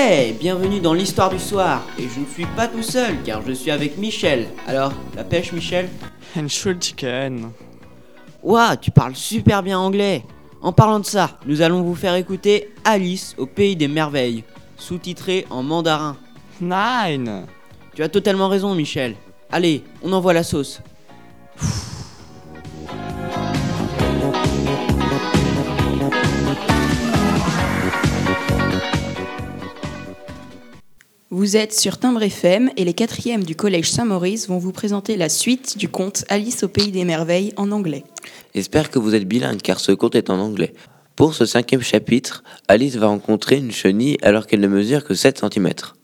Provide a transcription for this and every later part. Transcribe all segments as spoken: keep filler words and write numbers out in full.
Hey, bienvenue dans l'histoire du soir. Et je ne suis pas tout seul car je suis avec Michel. Alors, la pêche Michel? Entschuldigen. Ouah, tu parles super bien anglais. En parlant de ça, nous allons vous faire écouter Alice au pays des merveilles, sous-titré en mandarin. Nein. Tu as totalement raison Michel. Allez, on envoie la sauce. Vous êtes sur Timbre F M et les quatrièmes du collège Saint-Maurice vont vous présenter la suite du conte Alice au pays des merveilles en anglais. J'espère que vous êtes bilingue car ce conte est en anglais. Pour ce cinquième chapitre, Alice va rencontrer une chenille alors qu'elle ne mesure que sept centimètres.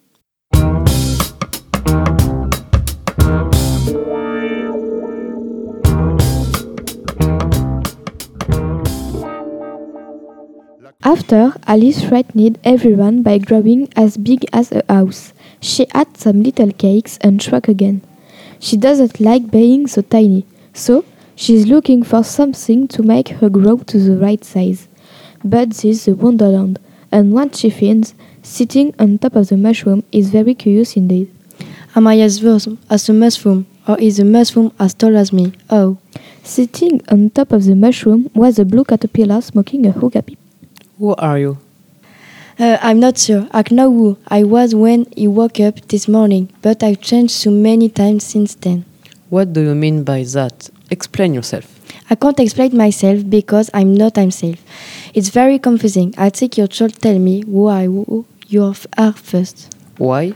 After, Alice frightened everyone by growing as big as a house. She had some little cakes and shrank again. She doesn't like being so tiny, so she's looking for something to make her grow to the right size. But this is the Wonderland, and what she finds, sitting on top of the mushroom, is very curious indeed. Am I as worth as a mushroom, or is the mushroom as tall as me? Oh. Sitting on top of the mushroom was a blue caterpillar smoking a hookah pipe. Who are you? Uh, I'm not sure. I know who I was when he woke up this morning, but I've changed so many times since then. What do you mean by that? Explain yourself. I can't explain myself because I'm not myself. It's very confusing. I think you should tell me who I who you are first. Why?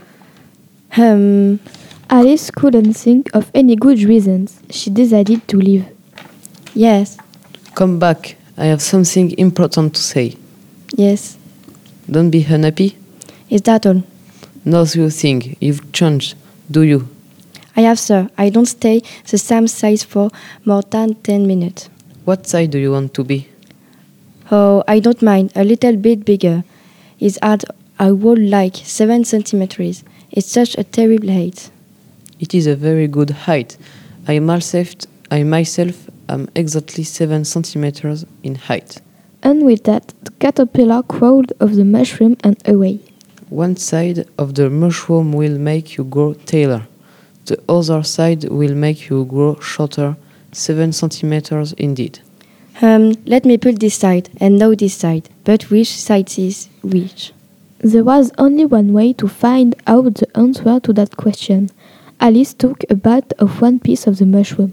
Um, Alice couldn't think of any good reasons. She decided to leave. Yes. Come back. I have something important to say. Yes. Don't be unhappy. Is that all? No, you think you've changed, do you? I have, sir. I don't stay the same size for more than ten minutes. What size do you want to be? Oh, I don't mind. A little bit bigger. It's at I would like seven centimeters. It's such a terrible height. It is a very good height. I myself, I myself am exactly seven centimeters in height. And with that, the caterpillar crawled off the mushroom and away. One side of the mushroom will make you grow taller. The other side will make you grow shorter, seven centimeters indeed. Um, let me pull this side and now this side. But which side is which? There was only one way to find out the answer to that question. Alice took a bite of one piece of the mushroom.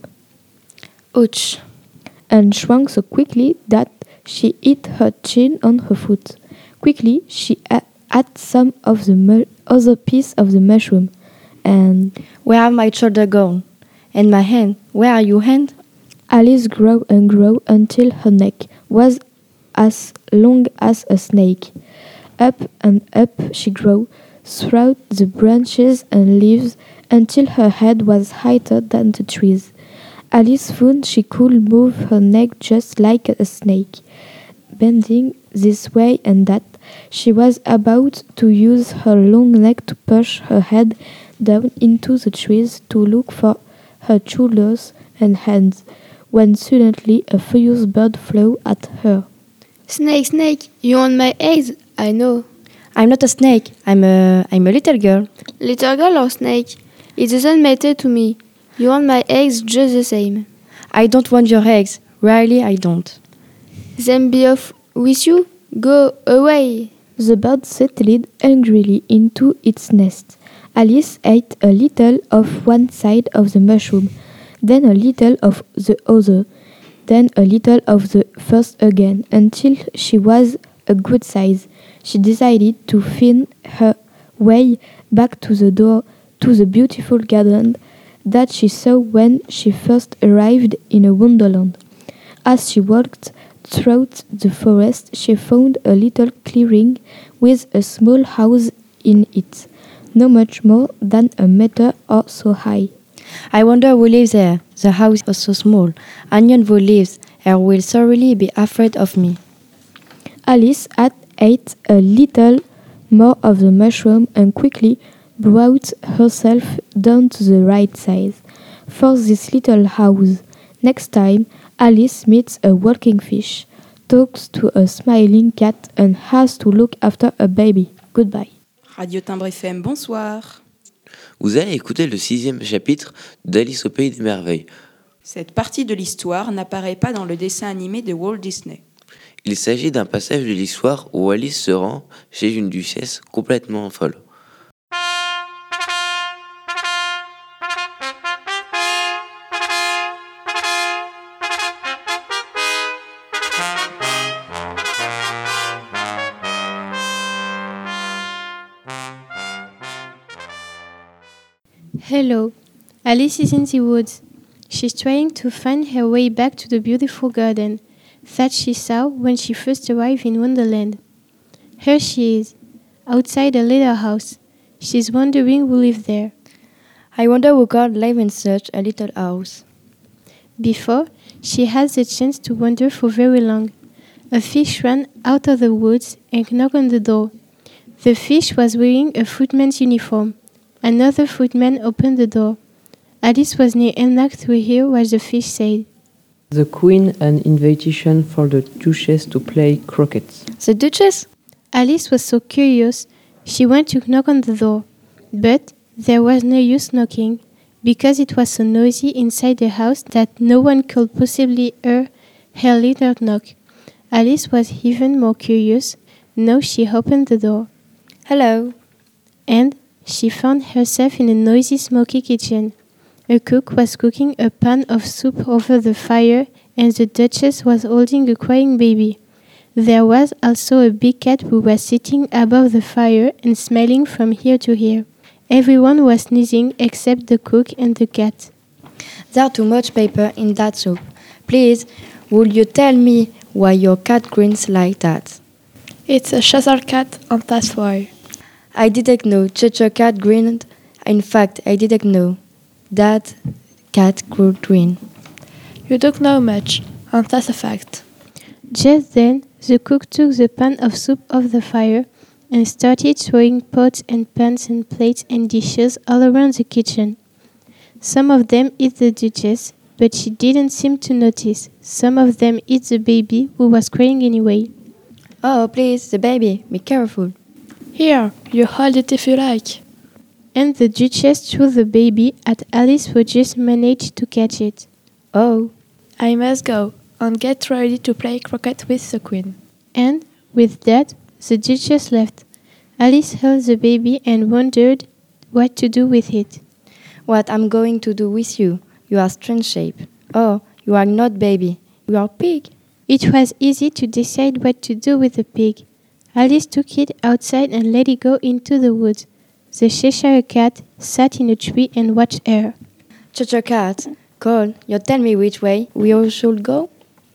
Ouch! And shrank so quickly that she hit her chin on her foot. Quickly, she ate some of the mu- other piece of the mushroom. And where are my shoulder gone? And my hand? Where are your hand? Alice grew and grew until her neck was as long as a snake. Up and up she grew, through the branches and leaves, until her head was higher than the trees. Alice found she could move her neck just like a snake. Bending this way and that, she was about to use her long neck to push her head down into the trees to look for her shoulders and hands, when suddenly a furious bird flew at her. Snake, snake, you want my eggs? I know. I'm not a snake. I'm a, I'm a little girl. Little girl or snake? It doesn't matter to me. You want my eggs just the same. I don't want your eggs. Really, I don't. Then be off with you. Go away. The bird settled angrily into its nest. Alice ate a little of one side of the mushroom, then a little of the other, then a little of the first again, until she was a good size. She decided to find her way back to the door to the beautiful garden that she saw when she first arrived in a wonderland. As she walked through the forest, she found a little clearing with a small house in it, not much more than a meter or so high. I wonder who lives there. The house is so small. Anyone who lives here will thoroughly be afraid of me. Alice had ate a little more of the mushroom and quickly brought herself down to the right size for this little house. Next time, Alice meets a walking fish, talks to a smiling cat, and has to look after a baby. Goodbye. Radio Timbre F M, bonsoir. Vous allez écouter le sixième chapitre d'Alice au Pays des Merveilles. Cette partie de l'histoire n'apparaît pas dans le dessin animé de Walt Disney. Il s'agit d'un passage de l'histoire où Alice se rend chez une duchesse complètement folle. Hello. Alice is in the woods. She's trying to find her way back to the beautiful garden that she saw when she first arrived in Wonderland. Here she is, outside a little house. She's wondering who lived there. I wonder who could live in such a little house. Before, she had the chance to wonder for very long. A fish ran out of the woods and knocked on the door. The fish was wearing a footman's uniform. Another footman opened the door. Alice was near enough to hear what the fish said. The Queen an invitation for the Duchess to play croquet. The Duchess? Alice was so curious, she went to knock on the door. But there was no use knocking, because it was so noisy inside the house that no one could possibly hear her little knock. Alice was even more curious. Now she opened the door. Hello. And she found herself in a noisy, smoky kitchen. A cook was cooking a pan of soup over the fire, and the Duchess was holding a crying baby. There was also a big cat who was sitting above the fire and smelling from ear to ear. Everyone was sneezing except the cook and the cat. There's too much paper in that soup. Please, would you tell me why your cat grins like that? It's a Cheshire cat, and that's why. I didn't know Cheshire cat grinned. In fact, I didn't know that cat could grin. You don't know much, and that's a fact. Just then, the cook took the pan of soup off the fire and started throwing pots and pans and plates and dishes all around the kitchen. Some of them hit the Duchess, but she didn't seem to notice. Some of them hit the baby, who was crying anyway. Oh, please, the baby, be careful. Here, you hold it if you like. And the Duchess threw the baby at Alice, who just managed to catch it. Oh. I must go and get ready to play croquet with the Queen. And, with that, the Duchess left. Alice held the baby and wondered what to do with it. What I'm going to do with you? You are strange shape. Oh, you are not baby. You are pig. It was easy to decide what to do with the pig. Alice took it outside and let it go into the woods. The Cheshire cat sat in a tree and watched her. Cheshire cat, Cole, you tell me which way we all should go?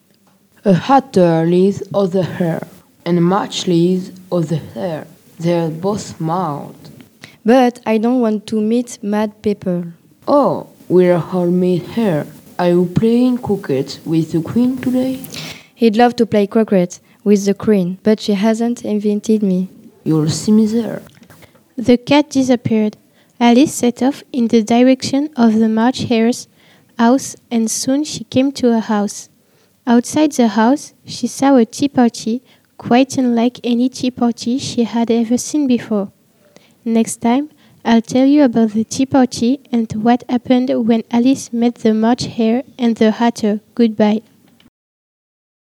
A hatter leads of the hare, and a match leads of the hare. They are both smart. But I don't want to meet mad people. Oh, we'll all meet here. Are you playing croquet with the Queen today? He'd love to play croquet with the Queen, but she hasn't invited me. You'll see me there. The cat disappeared. Alice set off in the direction of the March Hare's house, and soon she came to a house. Outside the house, she saw a tea party, quite unlike any tea party she had ever seen before. Next time, I'll tell you about the tea party and what happened when Alice met the March Hare and the Hatter. Goodbye.